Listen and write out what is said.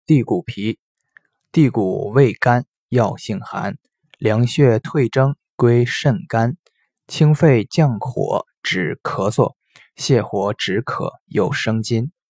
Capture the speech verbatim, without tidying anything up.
地骨皮。地骨味甘，药性寒，凉血退征，归肾肝，清肺降火，止咳嗽，泻火止渴，有生津。